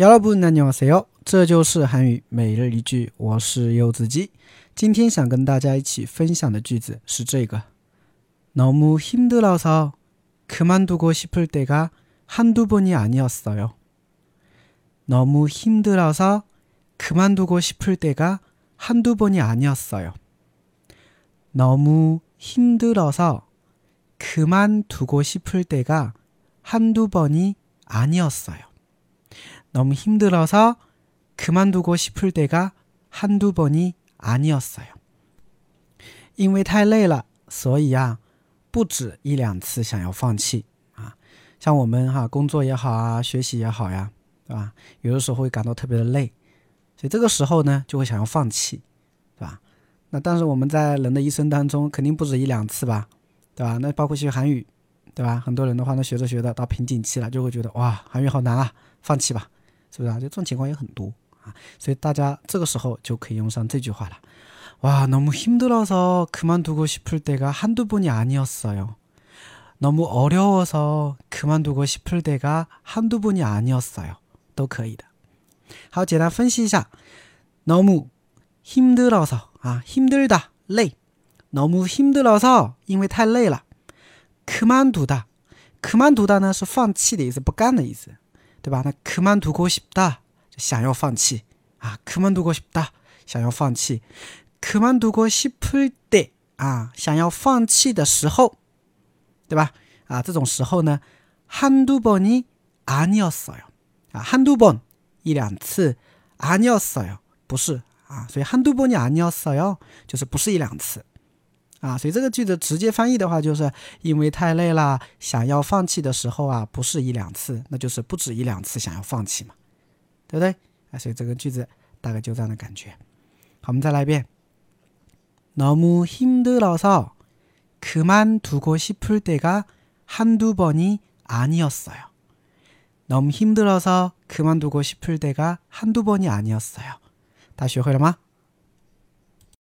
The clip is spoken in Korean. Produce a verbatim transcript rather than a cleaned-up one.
여러분 안녕하세요，这就是韩语每日一句，我是柚子鸡。今天想跟大家一起分享的句子是这个너무 힘들어서 그만두고 싶을 때가 한두 번이 아니었어요. 너무 힘들어서 그만두고 싶을 때가 한두 번이 아니었어요. 너무 힘들어서 그만두고 싶을 때가 한두 번이 아니었어요. 너무 힘들어서 그만두고 싶을 때가 한두 번이 아니었어요. 因为太累了，所以啊，不止一两次想要放弃啊。像我们哈、啊，工作也好啊，学习也好呀，对吧？有的时候会感到特别的累，所以这个时候呢，就会想要放弃，对吧？那但是我们在人的一生当中，肯定不止一两次吧，对吧？那包括学韩语，对吧？很多人的话呢，学着学着到瓶颈期了，就会觉得哇，韩语好难啊，放弃吧，是不是啊？就这种情况也很多啊，所以大家这个时候就可以用上这句话了。와, 너무 힘들어서 그만두고 싶을 때가 한두 번이 아니었어요. 너무 어려워서 그만두고 싶을 때가 한두 번이 아니었어요. 都可以的。好，简单分析一下。너무 힘들어서啊，힘들다累。너무 힘들어서因为太累了。그만두다 그만두다呢是放弃的意思，不干的意思，对吧？那그만두고 싶다想要放弃啊，그만두고 싶다想要放弃。그만두고 싶을 때啊，想要放弃的时候，对吧？啊，这种时候呢，한두 번이 아니었어요。啊，한두 번一两次，아니었어요不是啊，所以한두 번이 아니었어요就是不是一两次啊，所以这个句子直接翻译的话，就是因为太累了，想要放弃的时候啊，不是一两次，那就是不止一两次想要放弃嘛，对不对？啊，所以这个句子大概就这样的感觉。好，我们再来一遍。너무 힘들어서 그만두고 싶을 때가 한두 번이 아니었어요. 너무 힘들어서 그만두고 싶을 때가 한두 번이 아니었어요. 다 学会了吗？